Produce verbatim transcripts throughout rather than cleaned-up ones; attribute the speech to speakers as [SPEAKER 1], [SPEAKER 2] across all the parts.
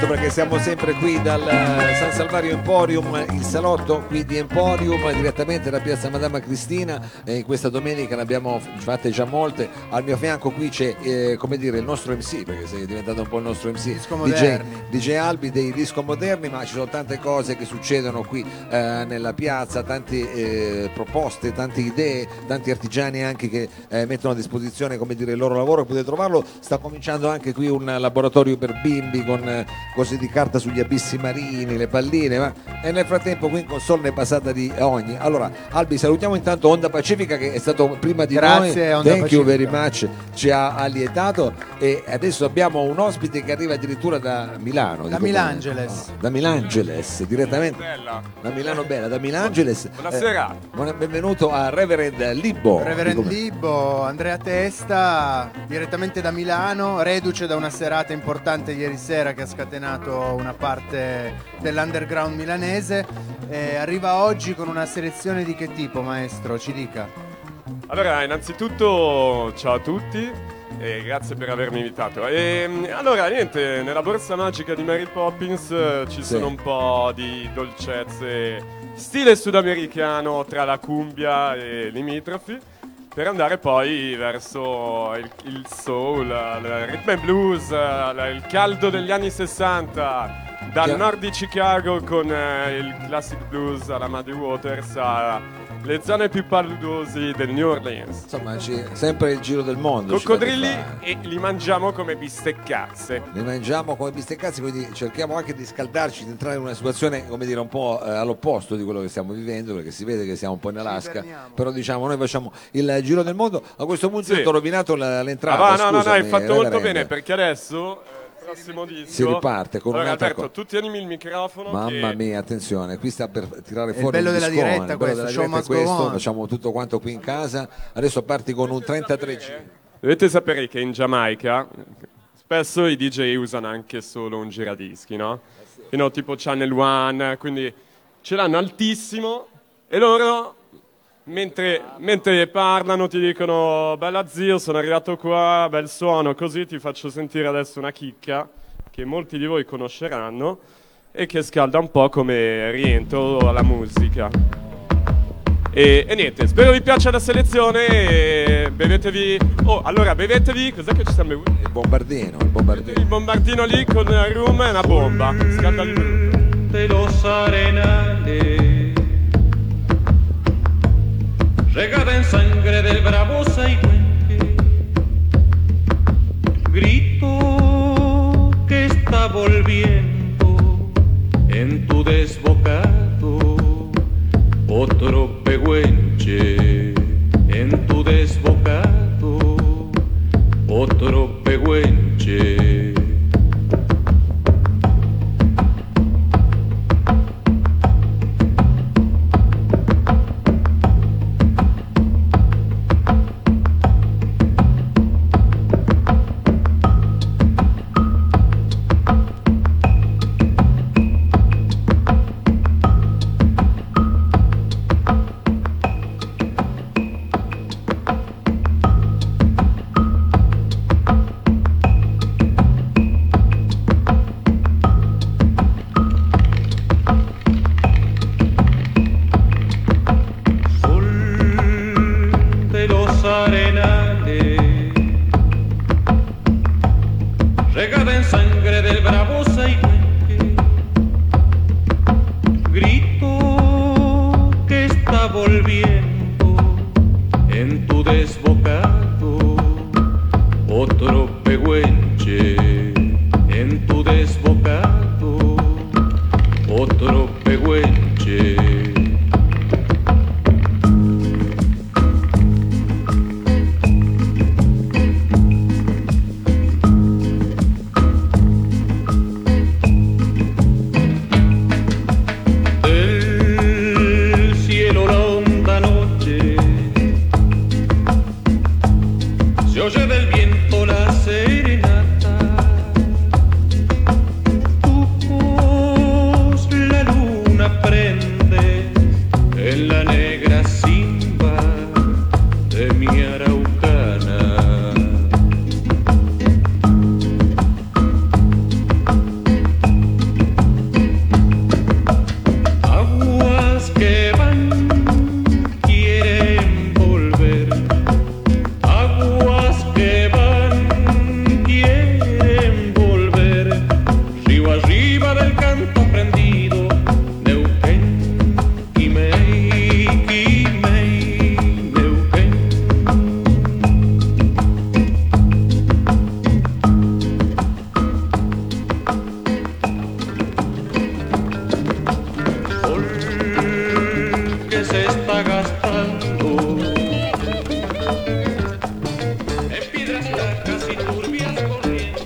[SPEAKER 1] certo, perché siamo sempre qui dal San Salvario Emporium, il salotto qui di Emporium, direttamente da Piazza Madama Cristina. E in questa domenica ne abbiamo fatte già molte. Al mio fianco qui c'è eh, come dire il nostro M C, perché sei diventato un po' il nostro M C,
[SPEAKER 2] Disco
[SPEAKER 1] D J,
[SPEAKER 2] Moderni.
[SPEAKER 1] D J Albi dei Disco Moderni, ma ci sono tante cose che succedono qui eh, nella piazza, tante eh, proposte, tante idee, tanti artigiani anche che eh, mettono a disposizione, come dire, il loro lavoro. Potete trovarlo. Sta cominciando anche qui un laboratorio per bimbi con eh, cose di carta sugli abissi marini, le palline, ma... e nel frattempo qui in console ne è passata di ogni. Allora Albi, salutiamo intanto Onda Pacifica che è stato prima di
[SPEAKER 2] Grazie,
[SPEAKER 1] noi.
[SPEAKER 2] Onda
[SPEAKER 1] Thank you
[SPEAKER 2] Pacifica.
[SPEAKER 1] very much, ci ha allietato, e adesso abbiamo un ospite che arriva addirittura da Milano,
[SPEAKER 2] Da
[SPEAKER 1] dico
[SPEAKER 2] Milangeles.
[SPEAKER 1] bene. Ah, da Milangeles direttamente
[SPEAKER 3] Bella.
[SPEAKER 1] da Milano Bella, da Milangeles.
[SPEAKER 3] Buonasera.
[SPEAKER 1] Eh, buona- benvenuto a Reverend Libbo.
[SPEAKER 2] Reverend
[SPEAKER 1] Dico-
[SPEAKER 2] Libbo, Andrea Testa, direttamente da Milano, reduce da una serata importante ieri sera che ha scatenato una parte dell'underground milanese. Eh, arriva oggi con una selezione di che tipo, maestro? Ci dica.
[SPEAKER 3] Allora, innanzitutto ciao a tutti e grazie per avermi invitato. E, allora, niente, nella borsa magica di Mary Poppins eh, ci
[SPEAKER 1] Sì.
[SPEAKER 3] sono un po' di dolcezze stile sudamericano tra la cumbia e limitrofi, per andare poi verso il, il soul, il rhythm and blues, eh, il caldo degli anni sessanta, dal
[SPEAKER 1] Chiaro.
[SPEAKER 3] nord di Chicago con eh, il classic blues alla Muddy Waters alle zone più paludosi del New Orleans.
[SPEAKER 1] Insomma, ci- sempre il giro del mondo. ci
[SPEAKER 3] Coccodrilli
[SPEAKER 1] fate fare.
[SPEAKER 3] e li mangiamo come bisteccazze.
[SPEAKER 1] Li mangiamo come bisteccazzi, quindi cerchiamo anche di scaldarci, di entrare in una situazione, come dire, un po' eh, all'opposto di quello che stiamo vivendo, perché si vede che siamo un po' in Alaska,
[SPEAKER 2] iberniamo.
[SPEAKER 1] però diciamo noi facciamo il giro del mondo. A questo punto
[SPEAKER 3] Sì.
[SPEAKER 1] io ti ho rovinato la-
[SPEAKER 3] Ah,
[SPEAKER 1] l'entrata.
[SPEAKER 3] va, no, no, no, hai
[SPEAKER 1] scusami,
[SPEAKER 3] fatto molto
[SPEAKER 1] Reverend.
[SPEAKER 3] bene, perché adesso eh, il prossimo disco
[SPEAKER 1] Si riparte con
[SPEAKER 3] allora,
[SPEAKER 1] un'altra
[SPEAKER 3] Alberto,
[SPEAKER 1] cosa.
[SPEAKER 3] tu tienimi il microfono.
[SPEAKER 1] Mamma
[SPEAKER 3] che-
[SPEAKER 1] mia, attenzione, qui sta per tirare
[SPEAKER 2] il
[SPEAKER 1] fuori
[SPEAKER 2] bello
[SPEAKER 1] il
[SPEAKER 2] della
[SPEAKER 1] discone,
[SPEAKER 2] diretta
[SPEAKER 1] il bello
[SPEAKER 2] questo,
[SPEAKER 1] della
[SPEAKER 2] show
[SPEAKER 1] diretta è
[SPEAKER 2] must go
[SPEAKER 1] questo,
[SPEAKER 2] on.
[SPEAKER 1] facciamo tutto quanto qui in casa. Adesso parti con un trentatré G.
[SPEAKER 3] Dovete sapere che in Giamaica spesso i D J usano anche solo un giradischi, no? You know, tipo Channel One, quindi ce l'hanno altissimo e loro mentre, mentre parlano ti dicono bella zio, sono arrivato qua, bel suono, così ti faccio sentire adesso una chicca che molti di voi conosceranno e che scalda un po' come rientro alla musica. E, e niente, spero vi piaccia la selezione e bevetevi... Oh, allora bevetevi, cos'è che ci stiamo bevendo?
[SPEAKER 1] Il bombardino, il bombardino.
[SPEAKER 3] Il bombardino lì con il rum è una bomba, scalda di brutto.
[SPEAKER 4] De los arenales, regada en sangre del bravo Saihuenque, grito que está volviendo en tu desbocado, otro pehuenche en tu desbocado, otro pehuenche. arriba del canto prendido, Neuquén, Quimei, Quimei, Neuquén. Sol que se está gastando en piedras blancas y turbias corrientes.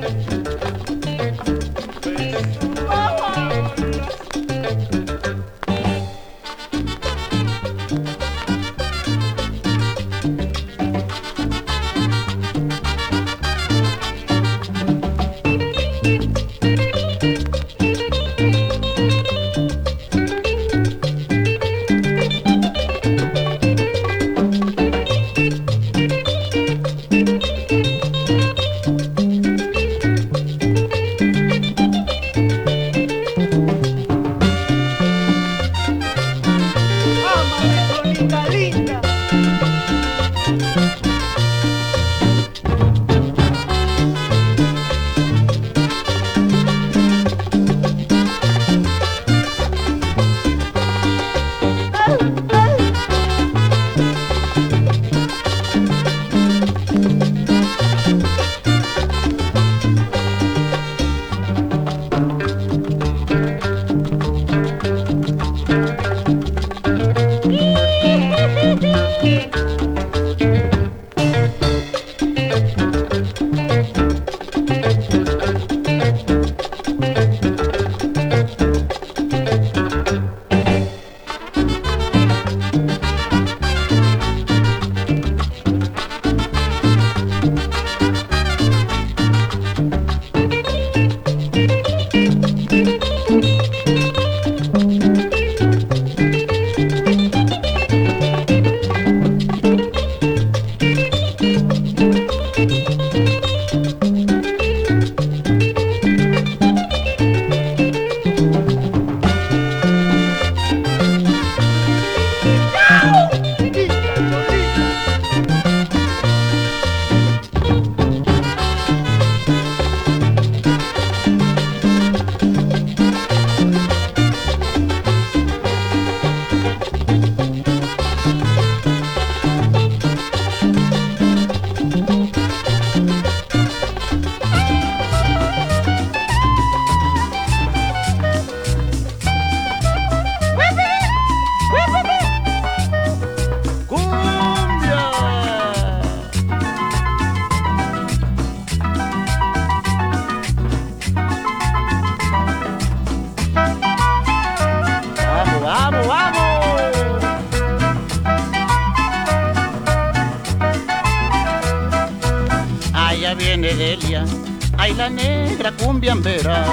[SPEAKER 5] viene Delia, ay la negra cumbiambera.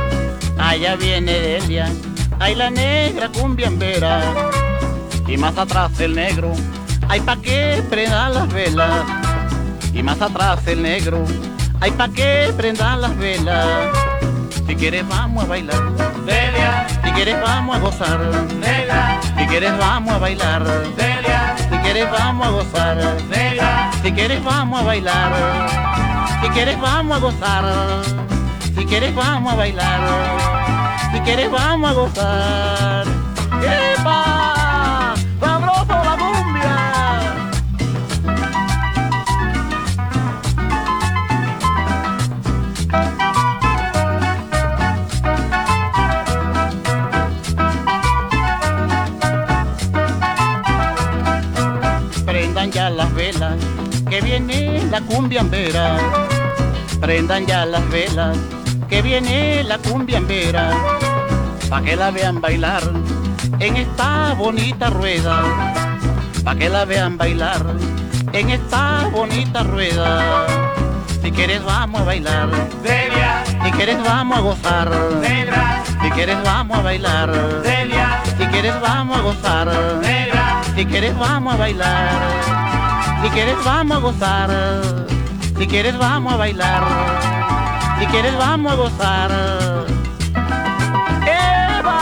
[SPEAKER 5] Allá viene Delia, ay la negra cumbiambera. Y más atrás el negro, ay pa' que prenda las velas. Y más atrás el negro, ay pa' que prenda las velas. Si quieres vamos a bailar, Delia. Si quieres vamos a gozar, Delia. Si quieres vamos a bailar, Delia. Si quieres vamos a gozar, Delia. Si quieres vamos a bailar, si quieres vamos a gozar, si quieres vamos a bailar, si quieres vamos a gozar. ¡Epa! ¡Sabroso la cumbia! Prendan ya las velas, que viene la cumbiambera. Prendan ya las velas, que viene la cumbiambera. Pa' que la vean bailar en esta bonita rueda. Pa' que la vean bailar en esta bonita rueda. Si quieres vamos a bailar, Delia. Si quieres vamos a gozar, Delia. Si quieres vamos a bailar, Delia. Si quieres vamos a gozar, Delia. Si quieres vamos a bailar, si quieres vamos a gozar, si quieres vamos a bailar, si quieres vamos a gozar. ¡Eva!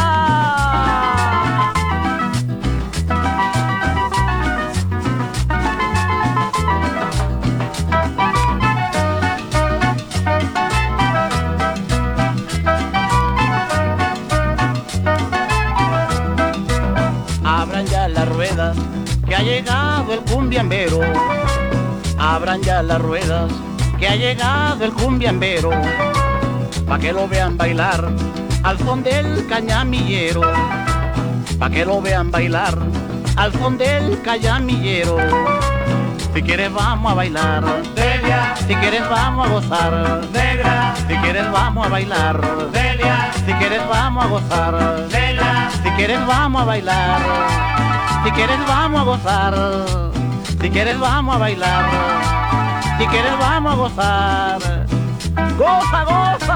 [SPEAKER 5] ruedas, que ha llegado el cumbiambero. Abran ya las ruedas, que ha llegado el cumbiambero, pa' que lo vean bailar al son del cañamillero, pa' que lo vean bailar al son del cañamillero. Si quieres vamos a bailar,
[SPEAKER 4] Delia,
[SPEAKER 5] si quieres vamos a gozar,
[SPEAKER 4] negra,
[SPEAKER 5] si quieres vamos a bailar,
[SPEAKER 4] Delia,
[SPEAKER 5] si quieres vamos a gozar,
[SPEAKER 4] Delia,
[SPEAKER 5] si quieres vamos a bailar, si quieres vamos a gozar, si quieres vamos a bailar, si quieres vamos a gozar. Goza, goza.